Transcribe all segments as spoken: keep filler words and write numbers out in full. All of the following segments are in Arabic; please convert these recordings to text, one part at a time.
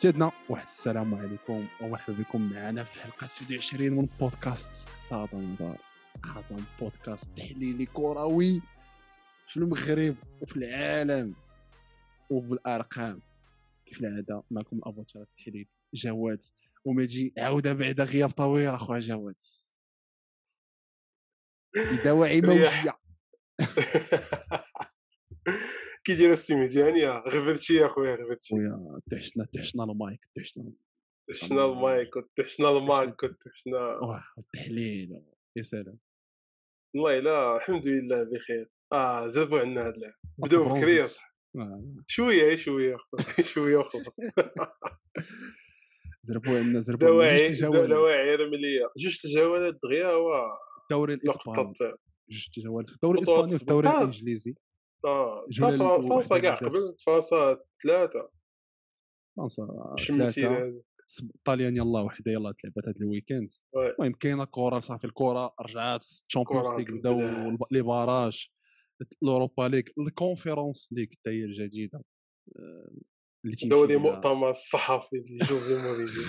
سيدنا واحد السلام عليكم ومرحبا بكم معنا في الحلقه ستة وعشرين من بودكاست هضم دار. هضم بودكاست تحليلي كروي في المغرب وفي العالم وبالارقام. كيف العاده معكم الافاتار التحليل جواد ومجي عوده بعد غياب طويل. اخويا جواد دواعي موجيه. كي داير السي مزيانيه غفرتي يا خويا غفرتي ويا تحشنا تحشنا المايك تحشنا تحشنا المايك تحشنا المايك تحشنا واه التحليل. يا سلام والله لا الحمد لله بخير. اه زربوا عنا هاد اللعب بداو بكري صح شويه شويه شويه وخلاص. زربوا عنا زربوا عنا جوج دواعي الجولات دواعي رمليه جوج الجولات دغيا هو الدوري الاسباني نقطه جوج جولات في الدوري خطوات الاسباني وفي الدوري السباق. الانجليزي. اه جوله فرنسا كاع واحده قبل فرنسا ثلاثه فرنسا شمتي ثلاثه هذا طاليان يلاه وحده يلاه تلعبات هذا الويكاند. المهم كاينه كره صافي الكره رجعات الشامبيونز ليغ بداو لي باراج الاوروبا ليغ الكونفيرونس ليغ حتى هي الجديده اللي تيمشي دوري مؤتمر الصحفي لجوزي مورينيو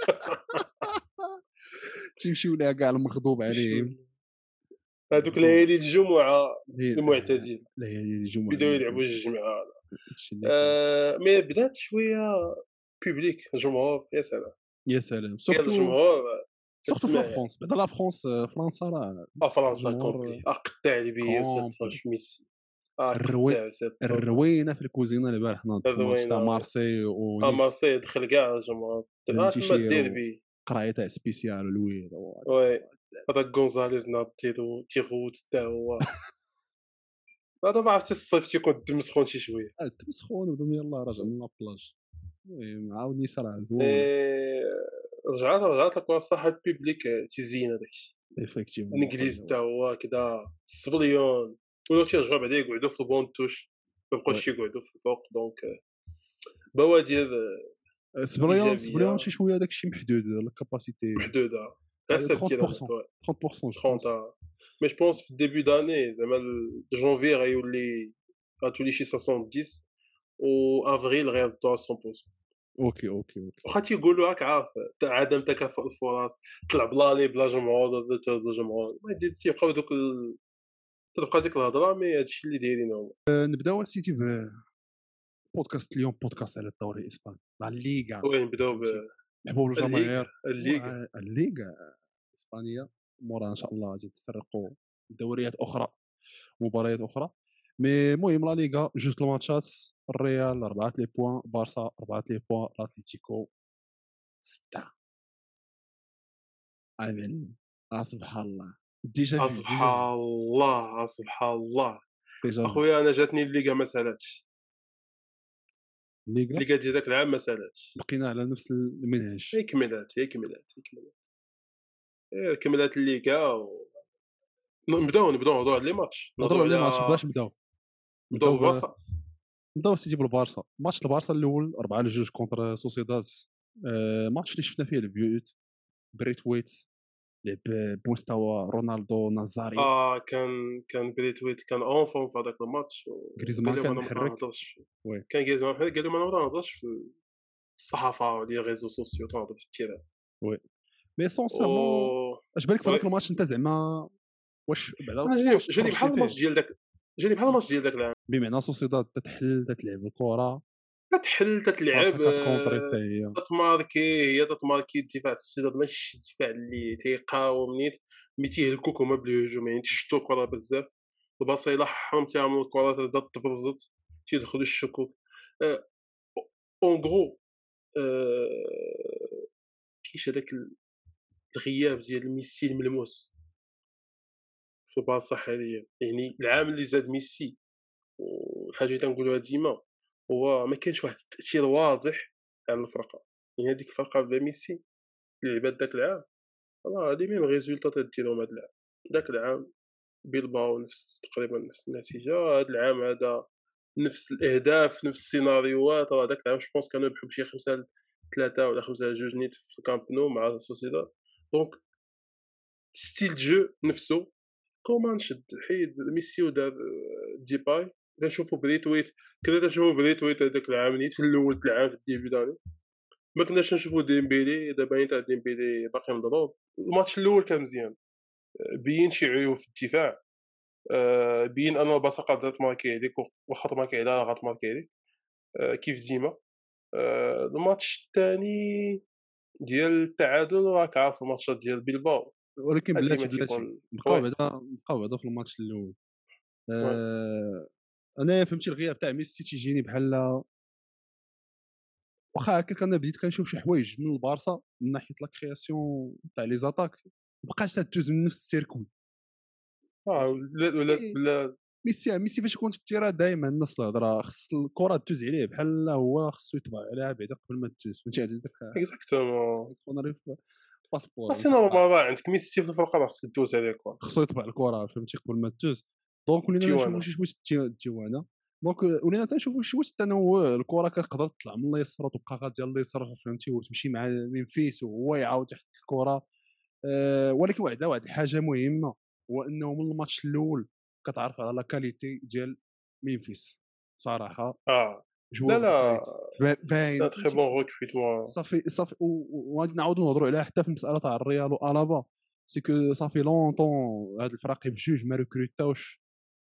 تيمشيو لها كاع المغضوب عليهم هذوك ليالي الجمعه المعتدين ليالي الجمعه بداو يلعبوا جوج مع آه مي بدات شويه بوبليك جمهور يا سلام يا سلام قال سورتو الجمهور سورتو في فرنسا بعد لا فرنسا فرنسا راه فرنسا كومبلي اقطع البيا وسيتفرج في ميسي الروي الروينه في الكوزينه البارح ناض في الماتش تاع مارسي ونيس. مارسي دخل كاع الجمهور تما الديربي قرايه تاع سبيسيال الويل وي هذا غونزاليز ناض تيرو تيغوت حتى هو هذا ما عرفتش الصيف تيكون الدم سخون شي شويه الدم سخون ودم يلاه راجع من لابلاج. المهم عاود نيس راه زوين رجعت رجعت لك الصح البيبليك تيزين هذاك ايفيكتيفمون الانجليز حتى هو كذا السبليون ولاو تيرجعوا بعدا يقعدوا في البون توش ما بقاوش يقعدوا في الفوق دونك بوادر سبليون سبليون شي شويه داك الشيء محدود الكاباسيتي محدوده غير ثلاثين ثلاثين ثلاثين مي جو بونس في الديبي داني زعما جونفي غيولي غتولي شي سبعين و افريل غيردوا مية بالمية. اوكي اوكي اوكي واخا تيقولوا راك عارف عدم تكافؤ الفرص طلع بلالي بلا جمهور بلا جمهور ما تيبقاو دوك تبقى ديك الهضره مي هادشي اللي دايرين هما. نبداو سيتي بودكاست اليوم بودكاست على الدوري الاسباني مع الليغا. وين نبداو نحبوا الجماهير الليغا الليغا الاسبانيه مورا ان شاء الله غادي تسترقوا دوريات اخرى مباريات اخرى. مي المهم لا ليغا جوج الماتشات الريال أربعة لي بوين بارسا أربعة لي بوين الاتليتيكو ستة. امين سبحان الله ديجا سبحان الله سبحان الله اخويا انا جاتني الليغا ما سالاتش الليغا الليغا ديال داك العام ما سالاتش بقينا على نفس المنهج هي كملات هي كملات هي كملات هي كملات الليغا و... نبداو نبداو نهضروا على لي ماتش نهضروا على لي ماتش باش نبداو نبداو بالبارسا نبداو سيتي بالبارسا. ماتش البارسا الاول أربعة لجوج كونتر سوسيداد. آه ماتش اللي شفنا فيه البيوت بريت ويت لعب بمستوى رونالدو نازاري. اه كان كان بريت ويت كان اون فورم في هذاك الماتش غريزمان كان محرك كان غريزمان محرك قال لهم انا ما نهضرش في الصحافه ديال الريزو سوسيو تنهضر في التيران وي مي سونسيرمون اش بالك في هذاك الماتش انت زعما واش بعدا جاني بحال الماتش ديال داك جاني بحال الماتش ديال داك العام بمعنى سوسيداد تتحل تتلعب الكره تتحل تتلعب هي تتماركي هي تتماركي الدفاع السوسيداد ماشي الدفاع اللي تيقاوم نيت مي تيهلكوك هما بالهجوم يعني تيشتو الكره بزاف الباصيله حرمتيها من الكره تبدا تبرزت تيدخلوا الشكوك اون غرو كاينش هذاك الغياب ديال ميسي الملموس في البارسا حاليا يعني العام اللي زاد ميسي والحاجه اللي تنقولوها ديما هو ما كانش واحد التاثير واضح على الفرقه يعني هذيك الفرقه بلا ميسي اللي لعبات داك العام راه هادي من الريزولطات ديالهم هذا العام داك العام بيلباو نفس تقريبا نفس النتيجه هذا العام هذا نفس الاهداف نفس السيناريوهات راه داك العام جوبونس كانوا يربحوا بشي خمسة ثلاثة ولا خمسة جوج نيت في كامب نو مع سوسيداد دونك ستيل جو نفسه كومان شد حيد ميسي ودار ديباي كنشوفوا بريت ويت كذا تشوفوا بريت ويت هذاك العام نيت في الاول العام في الديبي داني ما كناش نشوفوا ديمبيلي، دابا عين تاع ديمبيلي باقي مضروب. الماتش الأول كان مزيان، بين شي عيوب في الدفاع، آآ بين أن البارسا قادرة تماركي عليك و واخا تماركي عليها راه غتماركي عليك، آآ كيف ديما. آآ الماتش التاني ديال التعادل راك عارف الماتشات ديال بيلباو ولكن هاد ديما بلاتي بلاتي تيكون نبقاو وي، بعدا نبقاو بعدا في الماتش الاول. وي. آه، انايا فهمتي الغياب تاع ميسي تيجيني بحال واخا هكاك انا بديت كنشوف شي حوايج من البارسا من ناحيه لا كرياسيون تاع لي زاتاك مابقاش تدوز من نفس السيركوي. آه فهمتي ولا ولا إيه، بلا ميسي ميسي فاش يكون في التيران دائما الناس الهضره خص الكره دوز عليه بحال هو خصو يطبع عليها بعدا قبل ما تدوز. فهمتي هذا داك إكزاكتومون. يكون راه باسبور أصل فهمتي خصها- نورمالمون عندك ميسي في الفرقة راه خصك دوز عليه كوا خصو يطبع الكره فهمتي قبل ما تدوز. دونك ولينا نشوفوا تيوانا. شي شويه التي- التيوانه. دونك ولينا كنشوفوا شي واش التنوع الكره كتقدر تطلع من اليسار وتبقى غاديه لليسار فهمتي وتمشي مع ميمفيس وهو يعاود يحط الكره. آه، ولكن وحده واحد الحاجه مهمه هو انه من الماتش الاول كتعرف على لا كاليتي ديال ميمفيس صراحه آه لا، جوار دو لا، كاليتي سي باين ان تري فهمتي. بون recrutement. صافي صافي و- وغادي نعاودوا نهضروا عليها حتى في المساله تاع الريال والابا سي كو صافي لونطون هاد الفراقي بجوج ما ريكروتاوش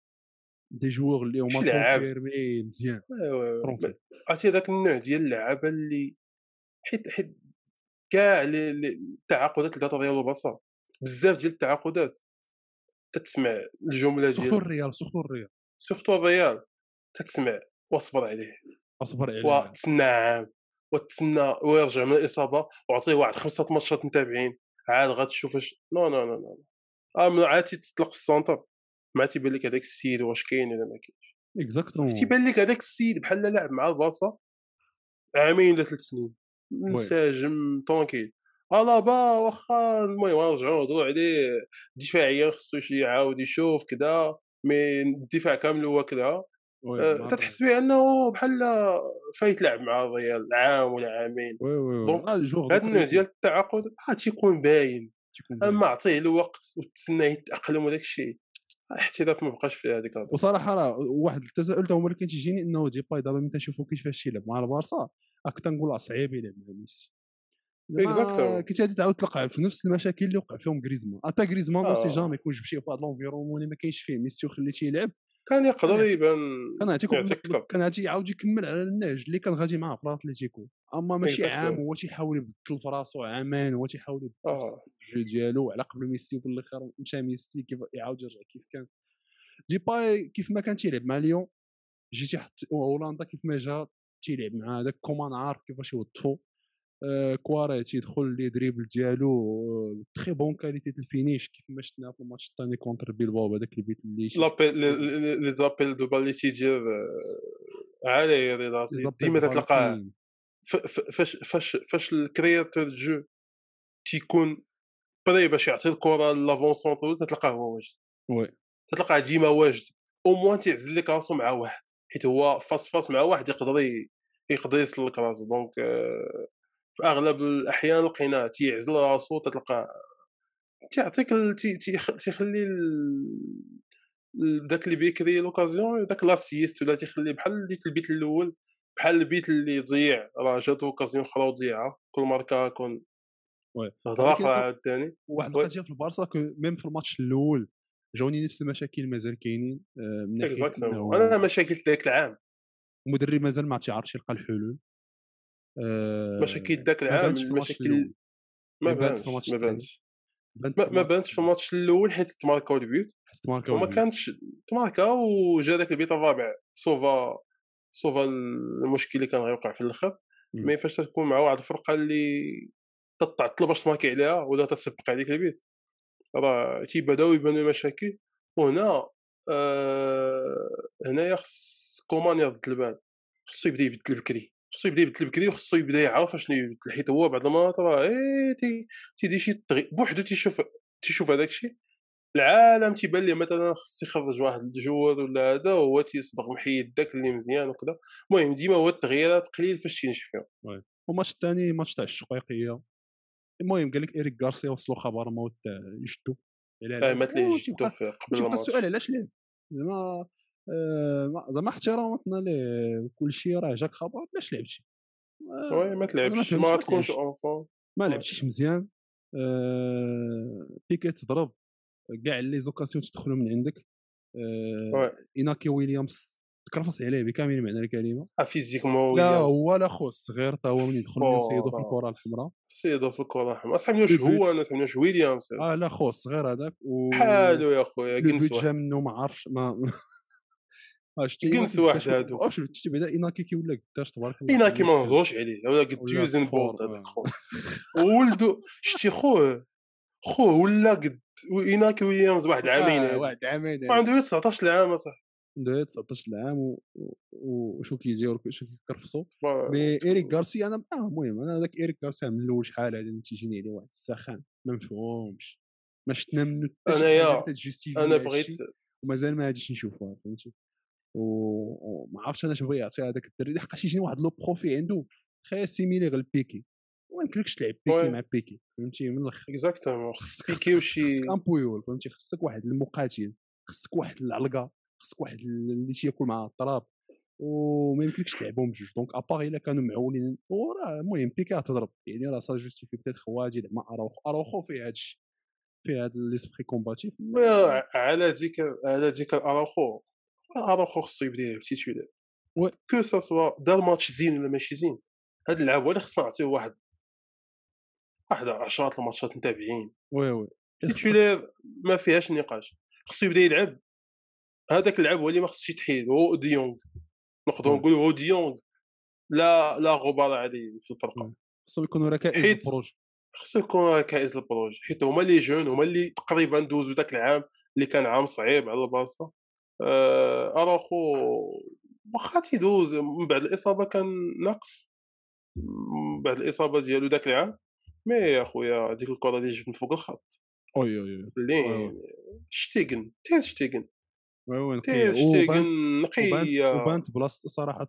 دي جوور اللي هما شي لعاب. كونفيرمي مزيان وي، وي، وي. ب ترونكيل. عرفتي هذاك النوع ديال اللعابة اللي حيت حيت كاع لي لي التعاقدات اللي دارت الريال وبارسا، بزاف ديال التعاقدات تتسمع الجملة سورتو ديال الريال سورتو الريال سورتو الريال، تتسمع واصبر عليه، اصبر عليها. وتسنى عام، وتسنى ويرجع من الإصابة وعطيه واحد خمسة ماتشات متابعين، عاد غتشوف اش نو، نو، نو، نو. آه من عاد تيتطلق السونتر، ما تيبان لك هذاك السيد واش كاين والّا ما كاينش. اكزاكتومون تيبان لك هذاك السيد بحال لعب مع البارسا عامين والّا ثلاث سنين، وي منسجم طونكيل. ألابا واخا المهم غنرجعوا نهضروا عليه دفاعيًا خصو شي يعاود يشوف كذا، مي الدفاع كامل هو كذا. وي آآ مره تتحس به أنه بحال فايت لعب مع الريال عام ولا عامين. وي وي وي دونك اه جوغ دو هاد النوع كاليتي ديال التعاقد راه تيكون باين، تيكون باين. أمّا عطيه الوقت وتسناه يتأقلم وداك الشيء، الاحتراف ما بقاش فيه هذيك الهضره. وصراحه راه واحد التساؤل تا هو اللي كان تيجيني انه ديباي دابا ملي تنشوفو كيفاش يلعب مع البارسا راك تنقول راه صعيب يلعب مع ميسي. زعما إكزاكتومون. كنت غادي تعاود تلقى في نفس المشاكل اللي وقع فيهم غريزمان اتا غريزمان اون سي آه، جامي يكون جبتيه في واحد لونفيرونمون اللي ما كاينش فيه ميسي وخليتيه يلعب. كان كان يقدر يعطيك يبان كان يعطيك واحد يعطي النقطة- أكتر. كان غادي يعاود يكمل على النهج اللي كان غادي معاه في الاتليتيكو. اما ماشي عام إكزاكتومون. هو تيحاول يبدل في راسو عامان هو تيحاول يبدل في آه، الجو ديالو على قبل ميسي وفي الاخر مشى ميسي كيف يعاود يرجع كيف كان. ديباي كيف ما كان تيلعب مع ليون جي تيحط هولندا كيف ما جا تيلعب مع هذاك كومان عارف كيفاش يوظفو. آه كواري تيدخل لي دريبل ديالو آه تري بون كاليتي د الفينيش كيف ما شفنا في الماتش الثاني كونتر بيلباو هذاك البيت اللي شي لابيل لي لي لي لي زابيل دو بال اللي تيدير عالي راسي زابيل ديما دو بال تتلقاه. كلين. ف ف فاش فاش فاش الكرياتور دو جو تيكون بري باش يعطي الكرة لافون سونترو تتلقاه هو واجد، وي تتلقاه ديما واجد، او موان تيعزل لك راسو مع واحد، حيت هو فاس فاس مع واحد يقدر ي يقدر يسلك راسو. دونك آآ في أغلب الأحيان لقيناه تيعزل راسو تتلقاه تيعطيك ال تي تيخ تيخلي ال ال داك اللي بيكري لوكازيون داك لاسيست ولا تيخلي بحال اللي في البيت الأول، بحال البيت اللي ضيع راه جاتو اوكازيون أخرى وضيعها، كل ماركا كون وي هضرة ولكن أخرى أنا عاوتاني. واحد وي القضيه في البارسا كو ميم في الماتش الاول جاوني نفس المشاكل مازال كاينين آه من ناحيه إكزاكتومون. انه أنا مشاكل داك العام، المدرب مازال ما تيعرفش يلقى الحلول. مشاكل آه داك ما العام بانتش في الماتش المشاكل الاول ما مي بانت في بانش، الماتش ما الثاني بانش. بانت ما في ما الماتش بانش في الماتش الأول حيت تماركاو البيوت حيت ماركاو وما البيوت. كانش تماركاو وجا داك البيت الرابع سوفا سوفا المشكل اللي كان غيوقع في الآخر. مم. مي فاش تكون مع واحد الفرقة اللي تتعطل باش تماركي عليها ولا تسبق عليك البيت راه تيبداو يبانو مشاكل. وهنا آآ هنايا خص كومان يرد البال، خصو يبدا يبدل بكري، خصو يبدا يبدل بكري وخصو يبدا يعرف اشنو يبدل، حيت هو بعض المرات راه إيه تي تيدير شي تغي بوحدو تيشوف تيشوف هذاك الشيء، العالم تيبان ليه مثلًا خص يخرج واحد الجوار ولا هذا وهو تيصدق محيد داك اللي مزيان وكذا. المهم ديما هو التغييرات قليل فاش تينجح فيهم. وي والماتش الثاني ماتش تاع الشقيقيه. المهم قال لك ايريك غارسيا وصلوا خبر موت تاع يشدو على آه لعب مات ليه جدو وتيبقى في قبل وتيبقى السؤال الماتش. علاش لعب زعما. آه، ما- زعما احتراماتنا ليه كل شيء راه جاك خبر علاش لعبتي. وي ما انا ما تلعبش فهمتش ما ما تكونش تلعبش اونفون. ما وي لعبتيش مزيان. آه، بيكي تضرب كاع لي زوكاسيون تدخلوا من عندك. وي آه، إناكي ويليامز تكرفص عليه بكامل معنى الكلمة. فيزيكمون لا ويليامز هو لا خو الصغير تا هو من يدخل من يصيدو في فورا الكرة الحمراء سيدو في الكرة الحمراء صاحبي واش لو هو بوت. انا صاحبي واش ويليامز اه لا خو الصغير هذاك و بحالو يا خويا لو جنس بوت جا واحد منه ما عرفش ما اه شتي جنس إناكي بدا واحد شو هادو واش شتي بدا إناكي كي ولا قداش تبارك الله في إناكي ما الموسم نهضروش عليه ولا قد ولا يوزن فور بولت هذاك آه. خويا وولدو شتي خوه خوه ولا قد إناكي ويليامز واحد العامين اه هادي واحد عامين هادي وعنده غير تسعطاش عام اصاحبي عنده تسعطاش عام و- و- وشو كيجيو شو كيكرفصوا. ما- مي ايريك غارسيا انا اه المهم انا هذاك ايريك غارسيا من الاول شحال هذا تيجيني عليه واحد السخان ما مفهومش ما شفنا منه حتى شي حاجه اللي انايا تجوستيفي انا هذا بغيت الشيء ومازال ما غاديش نشوفوها فهمتي. و- وما عرفتش انا اش بغى يعطي هذاك الدري لحقاش يجيني واحد لو بروفي عنده خايا سيميلي غير البيكي وما يمكنلكش تلعب بيكي وي مع بيكي فهمتي من الاخر. اكزاكتومون خص خصك بيكي خصك وشي خصك ان بويول فهمتي خصك واحد المقاتل خصك واحد العلقه خصك واحد اللي تياكل مع الطراب وما يمكنلكش تلعبهم بجوج دونك ابار الا كانوا معولين وراه المهم بيكي تضرب يعني راه سا جوستيفي بيتيت خوادي مع اراوخو اراوخو فيه هادشي فيه هاد ليسبري كومباتيف. ما- على ديك على ديك اراوخو اراوخو خصو يبدا يلعب تيتولار وي كو سا سوا دار ماتش زين ولا ماشي زين هاد اللعب هو اللي خصنا نعطيوه واحد واحد عشرة الماتشات متابعين وي وي خصك تيتولار ما فيهاش نقاش خصو يبدا يلعب هذاك اللعب هو اللي ما خصش يتحيد هو ديونغ نقدروا وي نقولوا هو ديونغ لا لا غبار عليه في الفرقه وي خصهم يكونوا ركائز حيت البروج. خصو يكون كائس البروج حيت هما لي جون هما اللي تقريبا دوزو داك العام اللي كان عام صعيب على البارسا آه، اراخو واخا تيدوز من بعد الاصابه كان ناقص من بعد الاصابه ديالو داك العام مي يا خويا ديك الكره اللي جبت من فوق الخط وي وي وي وي لين شتيغن تير شتيغن وي وي نقيه تير شتيغن وبانت وبانت نقيه وبانت بلاصه صراحه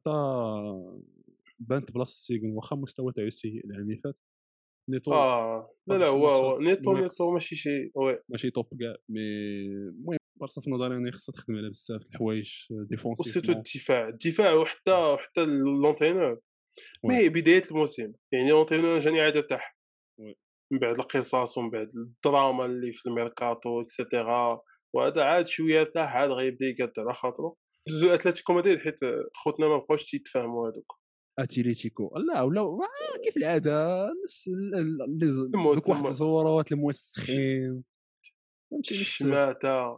بانت بلاصه سيغن واخا المستوى تاعو سيء العام اللي فات نيتو اه لا لا حاجه هو الماتشات هو نيتو نيتو ناقص ماشي شي وي ماشي توب كاع مي المهم بارسا في نظري انا خصها تخدم على بزاف د الحوايج وسيتو ديفونسيفمون. الدفاع الدفاع وحتى وحتى لونتينور وي مي بدايه الموسم يعني لونتينور جاني عاد ارتاح وي من بعد القصص ومن بعد الدراما اللي في الميركاتو اكسيتيرا وهذا عاد شويه ارتاح عاد غيبدا يقاد على خاطرو دوزو اتلتيكو مدريد حيت خوتنا ما بقاوش تيتفاهموا هذوك اتليتيكو لا ولا ما- كيف العاده نفس ال- ال- لي ز- الموت دوك واحد الموت الزورات الموسخين فهمتي نفس. الشماته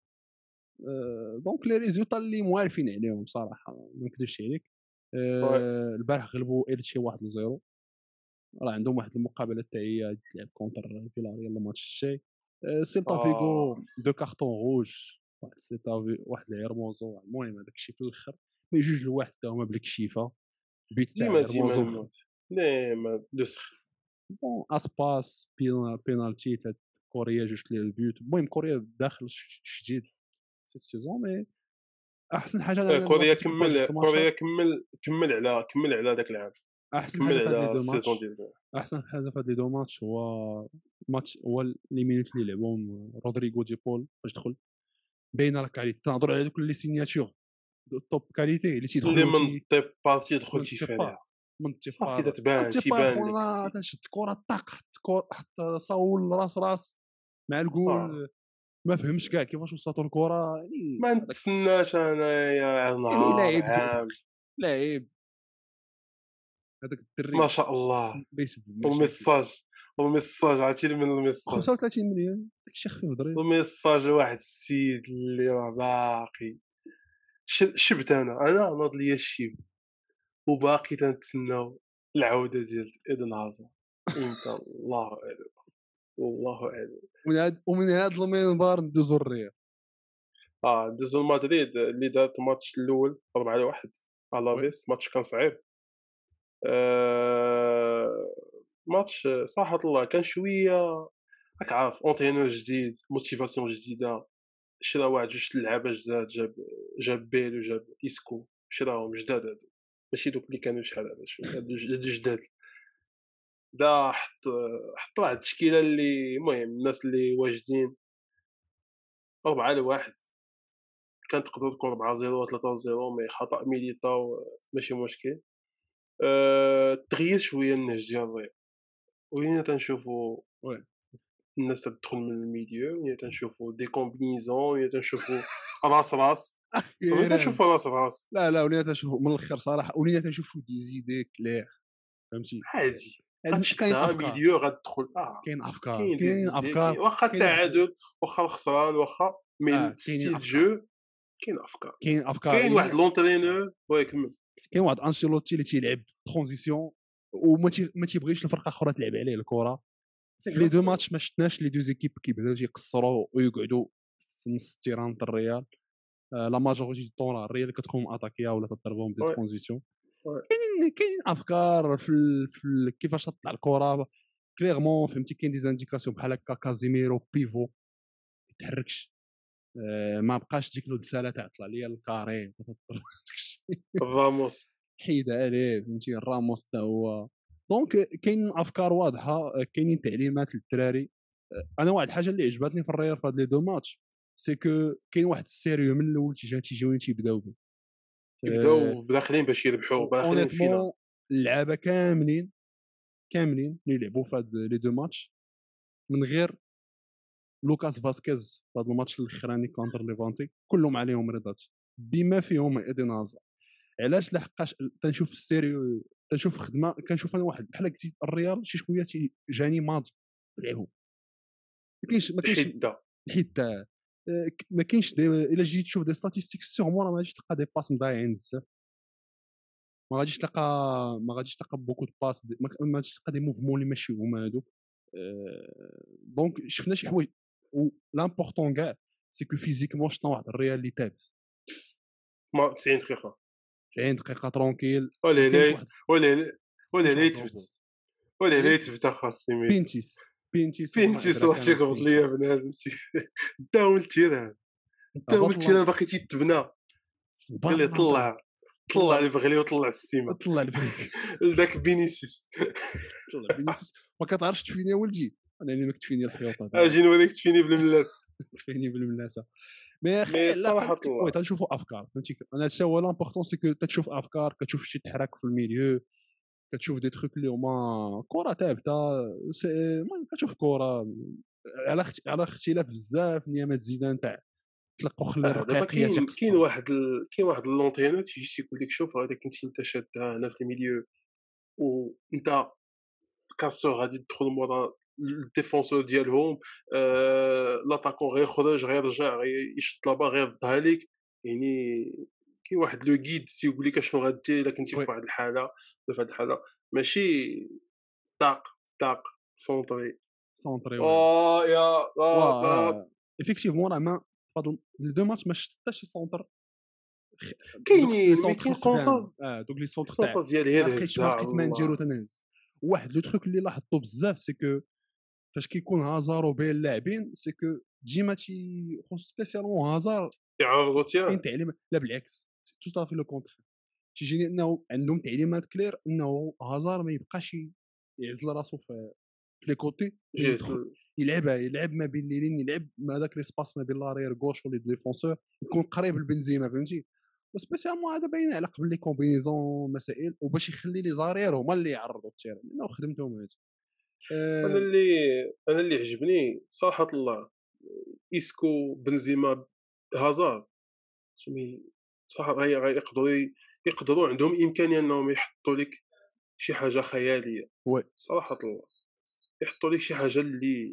آه، دونك لي ريزولتا اللي موالفين عليهم بصراحه ما نكذبش عليك. وي آه، البارح غلبوا ايلتشي واحد لزيرو راه عندهم واحد المقابله حتى هي غادي تلعب كونتر فيلاريال الماتش الجاي. آه، سيلتا اه فيغو دو كارطون روج واحد سيلتا في واحد الهرموزو المهم هذاك الشيء في الاخر مي جوج لواحد حتى هما بالكشيفه بيت تاع ديما ديما هرموزو الموت ديما دوسخ بون اسباس بينا- بينالتي تاع كوريا جوج لي البيوت المهم كوريا داخل ش- جديد في السيزون مي احسن حاجه آه، انا كوريا لاحظت في هاد جوج كمل الماتشات. كوريا كمل كمل على كمل على داك العام احسن كمل حاجه في هاد لي على دو السيزون ماتش ديال احسن حاجه في هاد لي دو ماتش هو ماتش هو لي مينوت اللي لعبهم رودريغو دي بول باش دخل باينه راك عليه تنهضروا على دوك لي سيناتور دو توب كاليتي اللي اللي تيدخلوا من تي طيب بارتي دخل من تيبا تيفاليها من صافي تيبا تتبان تيبا تيبان لك خونا السيد تشد كره طاق حط كو- حط صاول راس راس مع اه الجول ما فهمش كاع كيفاش وصلتوا الكره يعني ما هذاك نتسناش انايا يعني نهار لاعب عام زئبق لاعب هذاك ما الدري شاء الله بيسبب مشاكل. والميساج والميساج عرفتي من الميساج خمسة وثلاثين مليون داكشي خفيف ظريف. الميساج واحد السيد اللي راه باقي ش- شبت انا انا ناض ليا الشيب وباقي تنتسناو العوده ديال ايدن هازارد امتى الله اعلم والله اعلم ومن هاد ومن هاد المنبر ندوزو الريال. اه دوزو مدريد اللي دارت الماتش الاول أربعة لواحد على وي لافيس ماتش كان صعيب آه، ماتش صراحة الله كان شوية راك عارف اونترينور جديد موتيفاسيون جديدة شرا واحد جوج د اللعابة جداد جاب جاب بيل وجاب إسكو شراهم جداد هادو ماشي دوك اللي كانوا شحال هذا شوية هادو ج- هادو جداد دا حط حط واحد التشكيلة اللي المهم الناس اللي واجدين أربعة لواحد كانت تقدر تكون أربعة صفر ولا ثلاثة صفر مي خطأ ميليتاو ماشي مشكل آآ تغيّر شويه النهج ديال الرياض، ولينا تنشوفوا وي الناس تدخل من الميليو، ولينا تنشوفوا دي كومبينيزون، ولينا تنشوفوا راس راس، ولينا أخيرا. تنشوفوا راس راس لا لا ولينا تنشوفوا من الاخر صراحه، ولينا تنشوفوا دي زيدي كلير، فهمتي. عادي، عندنا- كاين غتشدها افكار، ميليو غتدخل آه، كاين افكار، كاين دي كاين زيدي افكار، كاين واخا كاين واحد، التعادل، واخا الخسران، واخا مي اه كاينين الستيل افكار، جو كاين أفكار، كاين افكار كاين يعني. واحد لونترينور واه كمّل. كاين واحد انشيلوتي اللي تيلعب ترانزيسيون وما تي ما تيبغيش الفرقه اخرى تلعب عليه الكره. في لي دو اكزاكتومون. ماتش ما شفناش لي دو زيكيب كيبداو تيقصروا ويقعدوا في نص التيران تاع الريال. آه، لا ماجوريتي دو طون راه الريال اللي كتكون ماتاكيا ولا تضربهم دي وي، ترانزيسيون. وي، كاينين كاينين افكار في ال... في ال... كيفاش تطلع الكره كليرمون، فهمتي. كاين دي زانديكاسيون بحال هكا كازيميرو بيفو ما يتحركش. آه، ما بقاش ديك الساله تاع طلع ليا الكاري داكشي. راموس. حيد عليه، فهمتي. راموس حتى هو. دونك كاين افكار واضحه، كاينين تعليمات للدراري. انا واحد الحاجه اللي عجبتني في الريال في هاد لي دو ماتش سي كو كاين واحد السيريو من الاول تيجي تيجيو تيبداو به. يبداو داخلين باش يربحوا، داخلين الفينال. اونيتمون اللعابه كاملين كاملين اللي لعبوا في هاد لي دو ماتش من غير لوكاس فاسكيز في هذا الماتش الاخراني كونتر ليفانتي كلهم عليهم رضات بما فيهم ايدين هازارد. علاش؟ لحقاش تنشوف السيريو، تنشوف خدمه، كنشوف انا واحد بحال قلتي الريال شي شويه تي جاني ماض لعبوا. ما كاينش ما كاينش الحده. الحته. آه، ك- ما كاينش دي... الا جيت تشوف دي ستاتيستيك سيغمون راه ما غاديش تلقى دي باس مضايعين بزاف. ما غاديش تلقى ما غاديش تلقى بوكو دو باس دي... ما ما غاديش تلقى دي موفمون اللي ماشي هما هادوك. آه، دونك شفنا شي حوايج. و لامبورطون كاع سي كو فيزيكمون شفنا واحد الريال اللي تابس ما تسعين دقيقه. عشرين دقيقه ترونكيل. ما كاينش وليلي واحد ما وليلي كاينش وليلي واحد تبت، الروبوت. وليلي بينتيس تبت اخاص ميل. بينتيس بينتيس والله فهمتي عذرا صوتي كانت قبض ليا بينتيس. بنادم داو التيران، داو هبط الله التيران باقي تيتبنى، هبط قال لي الله طلع، طلع طلع لي بغلي وطلع السيما طلع البريك. لذاك فينيسيوس. طلع فينيسيوس. ما كتعرفش تفيني يا ولدي، انا اللي ما كتفيني الحيوط هذا. اجي نوريك تفيني بالملاس. تفيني بالملاسه. مي يا اخي مي لا صراحه قلت وي الله تنشوفوا افكار، فهمتي. انا هادشي هو لامبورطون سي كو تتشوف افكار، كتشوف شي تحرك في الميليو، كتشوف دي تروك اللي هما كره ثابته. سي- المهم كتشوف كره على اخت... على اختلاف بزاف نيامات زيدان تاع تلقوا خلي اه دابا الرقيقيه كاين كاين تيقصر. واحد ال... كاين واحد اللونتينور تيجي تيقول لك شوف هذا كنتي انت شادها هنا في الميليو، وانت كاسور غادي تدخل مورا الديفونسور ديالهم، آه... لاتاكون غيخرج غيرجع غي- يشد لابا غيردها لك، يعني كاين واحد لو غيد تيقول لك اشنو غدير الا كنتي وي في واحد الحاله ولا في هذه الحاله، ماشي طاق طاق سونطري. سونطري وي. اه يا لا لا. واه افيكتيفمون راه ما فهاد لي دو ماتش ما شفت حتى شي سونتر. خ- دوك لي كاينين مي سونتر كاين خفان، سونطر، اه دوك لي سونتر تاع السونطر ديال غير ما لقيتش ما هزها لقيت ما نديرو الله. تنهز. واحد لو تروك اللي لاحظته بزاف سي كو فاش كيكون هازار وبين اللاعبين سي كو ديما تي سبيسيالمون هازار يعرضوا كاين تيران. تعليم. لا بالعكس تو صافي لو كونتر. تيجيني انه عندهم تعليمات كلير انه هازار ما يبقاش يعزل راسو في في لي كوتي، مي جهه يدخل ال- يلعبها، يلعب ما بين ليلين، يلعب ما داك ليسباس ما بين لارير غوش ولي ديفونسور، يكون قريب لبنزيما، فهمتي. وسبيسيالمون هذا باين على قبل لي كومبينيزون مسائل، وباش يخلي لي زارير هما اللي يعرضوا التيران لانه خدمتهم هذه. انا أه اللي انا اللي عجبني صراحه الله إيسكو بنزيما هازارد سمي صراحه غي- غيقدروا ي- يقدروا عندهم امكانيه انهم يحطوا لك شي حاجه خياليه وي صراحه الله، يحطوا لك شي حاجه اللي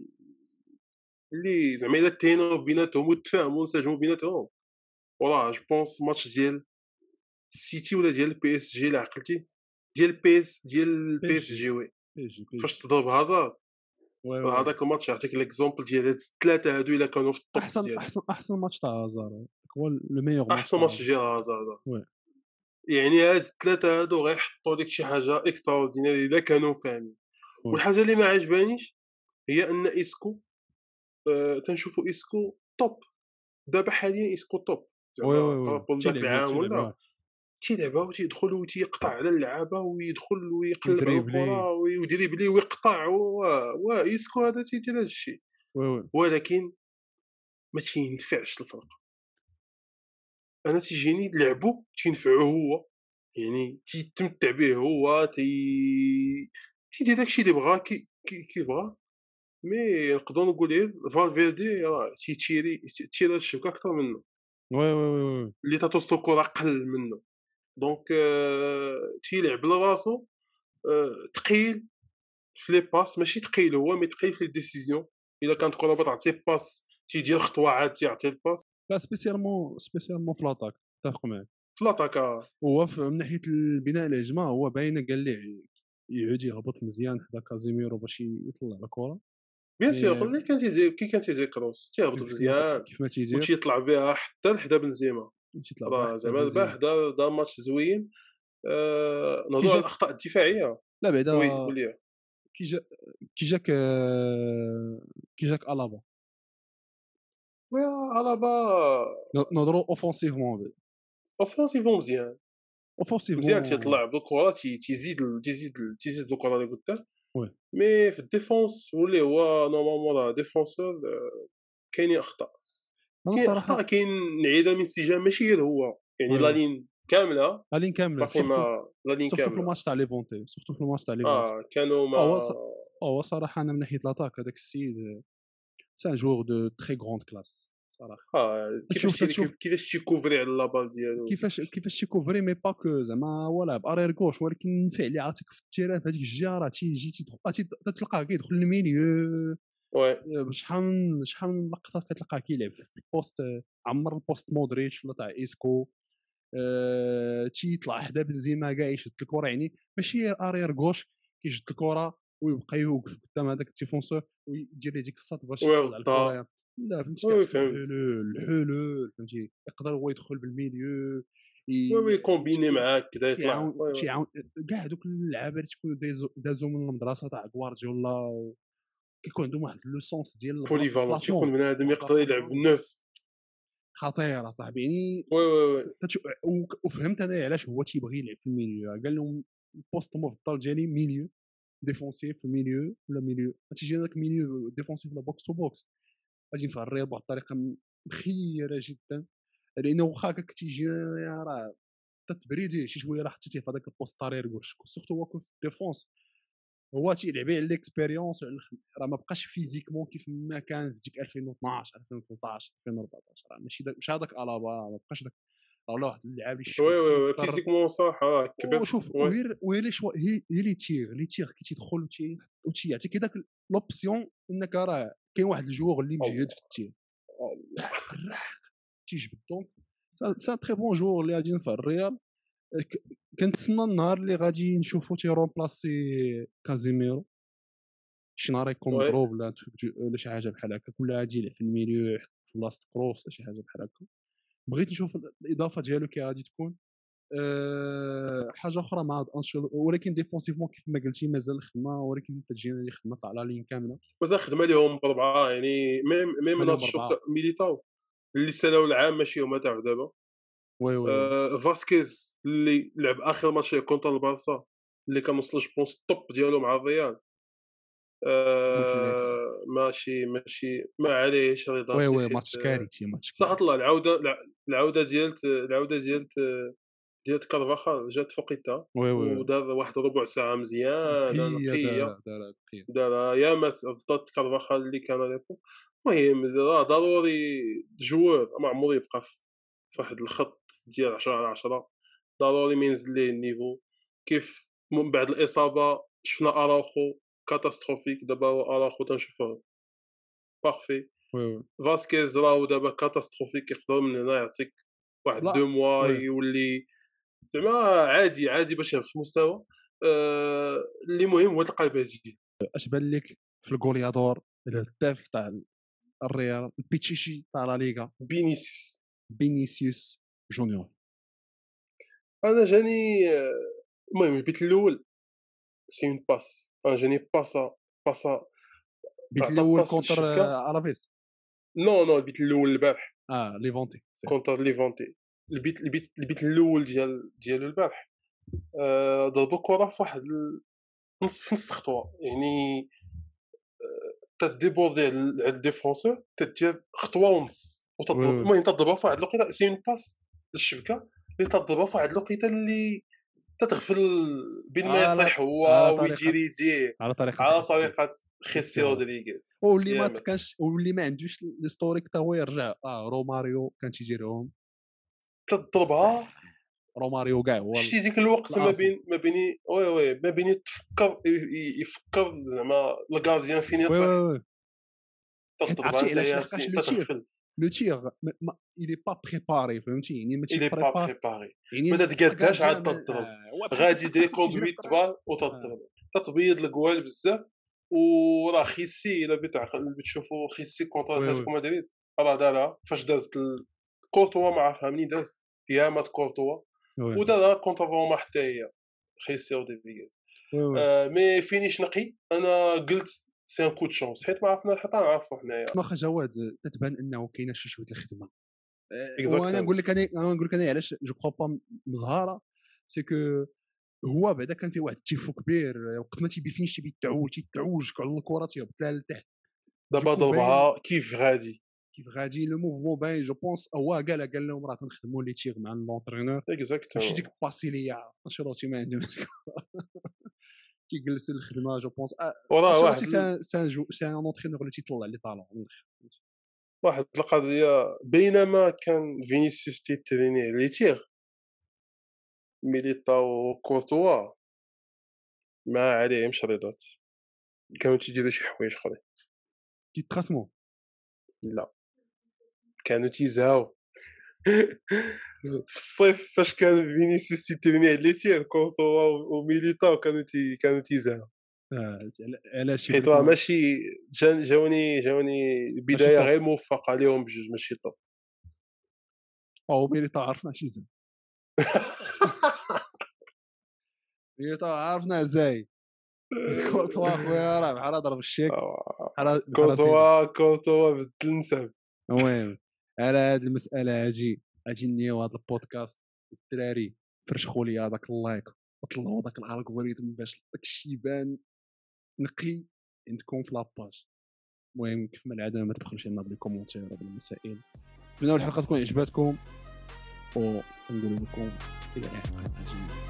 اللي زعما الا تينوا بيناتهم وتفاهموا وانسجموا بيناتهم، وراه جو بونس ماتش ديال السيتي ولا ديال البي اس جي الا عقلتي، ديال بي اس ديال بي البي اس جي جي وي، بي جي بي فاش جي تضرب هازارد. وي راه وي. هذاك الماتش يعطيك ليكزومبل ديال هاد الثلاثه هادو الا كانوا في الطوب احسن ديالهم. احسن احسن ماتش تاع هازار هو لو ميور ماتش احسن تاع ماتش هازار. ديال هازارد، وي يعني هاد الثلاثه هادو غيحطوا لك شي حاجه اكسترا اوردينير الا كانوا فاهمين. وي والحاجه اللي ما عجبانيش هي ان اسكو، آه تنشوفوا اسكو توب دابا حاليا، اسكو توب وي زعما وي وي بارابول داك تيلعب العام تيلعب ولا اه تيلعبها وتيدخل وتيقطع على اللعابه ويدخل ويقلب على يدريبلي. الكره ويدريبلي ويقطع و و اسكو هذا تيدير هذا الشيء، وي وي ولكن ما تينفعش الفرق. انا تيجيني لعبو تينفعو هو، يعني تيتمتع به هو تي تيدير داكشي اللي بغا كي كي كيبغا. مي نقدروا نقول غير فالفيردي راه تيتيري تيتير هاد الشبكة أكتر منه، وي وي وي وي اللي تتوصل الكرة قل منه. دونك آه، تيلعب لراسو، آه، ثقيل في لي باس، ماشي ثقيل هو مي ثقيل في لي ديسيزيون. إلا كانت كرة بغات تعطيه باس تيدير خطوة عاد تيعطي الباس لا سبيسيالمون سبيسيالمون في لاطاك اتفق معاك. في لاطاكا. هو ف- من ناحيه البناء الهجمه هو باينه قال ليه يعود يهبط مزيان حدا كازيميرو باش يطلع الكره. بيان سور مي اللي كان تيدير كي كان تيدير كروس تيهبط كيف كيف ما مزيان كيف ما تيدير وتيطلع بها حتى لحدا بنزيما. تيطلع بها راه حتى زعما دابا بنزيما حدا دا ماتش زوين. آآ كي نهضروا على جاك. الأخطاء الدفاعية. لا بعدا وي قُل لي. كي جا كي جاك آه، كي جاك الابا. وي ألابا نهضروا اوفونسيفمون أوفونسيفمون مزيان. مزيان اوفونسيفمون تيطلع بالكرة تي تيزيد ال تيزيد ال تيزيد بالكرة لقدام. وي. مي في الديفونس واللي هو نورمالمون راه ديفونسور كاينين أخطاء. انا كاين أخطاء صراحه كاين نعيدها من انسجام ماشي غير هو، يعني وي لا وي لين كاملة الين كامله باقي سورتو ما لا لين سورتو في كاملة. الماتش تاع ليفونتي سورتو في الماتش تاع ليفونتي. آه كانوا هو ما ص... هو صراحه انا من ناحيه لاطاك هذاك السيد سي ان جوور دو تري غروند كلاس صراحه. آه كيفاش تشوف تي تشوف كيفاش تيكوفري على لابال ديالو كيفاش كيفاش. كيفاش تيكوفري مي با كو زعما هو لاعب ارير كوش ولكن فعلي عاطيك في التيران في هذيك الجهه راه تيجي تيدخل تلقاه كيدخل الميليو. وي شحال شحال من لقطه كتلقاه كيلعب في البوست عمر البوست مودريتش ولا تاع ايسكو. أه... تيطلع حدا بنزيما كاع يشد الكره يعني ماشي ارير كوش كيشد الكره ويبقى يوقف قدام هذاك التيفونسور ويدير ليه ديك الساط باش وي يطلع الكره غطا. يعني. لا فهمتي وي تعطيك فهمت. الحلول الحلول فهمتي يقدر هو يدخل بالميليو وي وي ي- كومبيني يتف- معاك كدا يطلع. تيعاون وي وي تيعاون كاع دوك اللعابه اللي تكونوا دايزو دازو من المدرسه تاع غوارديولا و- كيكون عندهم واحد لو سونس ديال بوليفالون البلاسمون تيكون بنادم واحد يقدر يلعب بنوف. خطيره صاحبي يعني. وي وي وي تتش- و- وفهمت انا علاش هو تيبغي يلعب في الميليو قال لهم البوست المفضل ديالي ميليو ديفونسيف في ميليو ولا ميليو تيجي هذاك ميليو ديفونسيف ولا بوكس تو بوكس غادي نفريه بواحد الطريقه م- مخيره جدا لانه واخا هكاك تيجي راه تتبريديه شي شويه راه حطيتيه في هذاك البوست طارير كلشي سورتو هو كون في الديفونس هو تيلعب على الاكسبيريونس وعلى الخ- راه ما بقاش فيزيكمون كيف ما كان في ديك ألفين واثناش ألفين وثلاثطاش ألفين وأربعطاش راه ماشي داك مش هذاك الابا ما بقاش داك راه ولا واحد اللاعب اللي وي شوت وي وي كيقدر. فيزيكمون صح راه كبر. وشوف وي وهي وهي لي شوا هي هي لي تيغ لي تيغ كي تيدخل وتي- وتيعطيك داك لوبسيون انك راه كاين واحد الجوغ اللي مجهد الله في التير الله. الراح تيجبد دونك سي ان تري بون جوغ اللي غادي ينفع الريال. ك- كنتسنى النهار اللي غادي نشوفو تيرومبلاسي كازيميرو شي نهار يكون وي مضروب ولا ولا شي حاجه بحال هكا ولا غادي يلعب في الميليو في بلاصه كروس ولا شي حاجه بحال هكا. بغيت نشوف الاضافه ديالو كي غادي تكون. أه حاجه اخرى مع هاد انشيلوتي ولكن ديفونسيفمون كيف ما قلتي مازال الخدمه ولكن كتجينا دي خدمه تاع لا لين كامله. مازال خدمه ليهم بربعه يعني ميم ميم اليوم ناتشو اربعه. تاع ميليتاو اللي سالاو العام ماشي هما تاع دابا. وي وي وي آه فاسكيز اللي لعب اخر ماتش كونتر البارسا اللي كان وصل جوبونس الطوب ديالو مع الريال. مثلات. آه ماشي ماشي ما عليهش وي رضاتي وي حيت ماتش كارثي ماتش صح كارثي. الله العوده الع- العوده ديالت العوده ديالت ديالت كارفاخال جات فوقيتها وي وي وي ودار واحد ربع ساعه مزيانه بقيه نقيه. دار دار بقيه. دار يا مات بالضبط كارفاخال اللي كان ليبو. المهم راه ضروري جوار ما عمرو يبقى في في واحد الخط ديال عشرة على عشرة. ضروري ما ينزل ليه النيفو كيف من بعد الإصابة شفنا أراوخو كاتاستروفيك دابا هو أراوخو تنشوفوه بارفي. وي وي فاسكيز راهو دابا كاتاستروفيك يقدر من هنا يعطيك واحد لا دو موا وي يولي زعما عادي عادي باش يهبط في المستوى. آه، اللي مهم هو تلقى البديل. اش بان لك في الغوليادور الهداف تاع الريال البيتشيشي تاع لا ليغا فينيسيوس فينيسيوس جونيور. انا جاني آه، المهم البيت الاول سي اون باس انا جاني باسا باسا البيت عطى الاول باس كونتر للشبكه. آه، الافيس. نو نو البيت الاول البارح اه ليفونتي سي. كونتر ليفونتي. البيت البيت البيت الاول ديال ديالو البارح. آه، ضربوا كره في واحد ال- نص في نص خطوه يعني تديبوردي على الديفونسور تدير خطوه ونص وي وتضرب وي المهم تضربها في واحد الوقيته سي اون باس للشبكه اللي تضربها في واحد الوقيته اللي تتغفل بين ما على يطيح هو على طريقة ويجي يديه على طريقة على خيسي طريقه خيسي خيسي رودريغيز. واللي يا ما مسا تكانش واللي ما عندوش الهيستوريك تا هو يرجع اه روماريو كان تيجيرهم بزاف. تضربها. روماريو كاع هو ال- شتي ديك الوقت ما الاصل. بين ما بيني وي وي ما بيني تفكر ي- ي- يفكر زعما الكارديان فين وي يطيح وي وي تضربها حيت عرفتي انت علاش لحقاش ياسين لو تيغ تتغفل. لو تيغ ما الي با بريباري فهمتي يعني ماشي الي با بريبار بريباري يعني ما لا تقاداش عاد كارديان ما تضرب آه، هو بحال غادي طق طق دير طق تيجري في كوندويت الطريق. بال آه. وتضرب تتبيض الكوال بزاف. وراه خيسي الا بتعقل بتشوفوا خيسي كونتر وي اتلتيكو وي مدريد راه دارها فاش دازت ال- كورتوا ما عرفها منين دازت هي مات كورتوا وي ودارها كونتر روما حتى هي خيسي رودريغيز. وي وي آه مي فينيش نقي انا قلت سي ان كو دو شونس حيت ما عرفنا حتى نعرفوا حنايا واخا جواد تتبان انه كاينه شي شويه الخدمه. آه، وانا اكزاكتومون. نقول لك انا انا نقول لك انا علاش جو كخوا با مزهاره سي كو هو بعدا كان فيه واحد التيفو كبير آه، وقت ما تيبي فينش تيبي يتعوج تيتعوج على الكره تيهبط لها لتحت دابا دوكو باين ضربها كيف غادي كيف غادي لو موفمون باين جو بونس هو قال قال لهم راه كنخدموا لي تيغ مع لونترينور ماشي ديك اكزاكتومون. باسي ليا انشيلوتي ما عندهم تيجلس الخدمه جو بونس وراه انشيلوتي واحد ال- سان سان جو سان اونترينور اللي تيطلع لي طالون من الاخر. واحد القضيه بينما كان فينيسيوس تيتريني لي تيغ ميليتاو كورتوا ما عليهمش رياضات كانوا تيديروا شي حوايج اخرين. تيتخاصموا لا كانوا تيزهاو. في الصيف فاش كان فينيسيوس تيتريني على لي تيغ كورتوا وميليتاو كانوا تي كانوا تيزهاو آه، علاش يقول حيت لك راه ما ماشي جا- جاوني جاوني ماشي بدايه طوب غير موفقه ليهم بجوج ماشي طوب. او ميليتا عرفنا شي زين ميليتا عرفنا ازاي كورتوا اخويا راه بحال ضرب الشيك آه، بحال بحال سيدي. كورتوا كورتوا بدل النسب. المهم على هذه المساله هاجي اجي نيو هذا البودكاست الدراري فرشخوا لي هذاك اللايك وطلعوا داك الالغوريثم باش داكشي يبان نقي عندكم في لاباج. المهم كيف ما العاده ما تبخلوش لنا بالكومونتير ولا بالمسائل. نتمنى الحلقه تكون عجبتكم ونقول لكم الى الحلقه الجايه.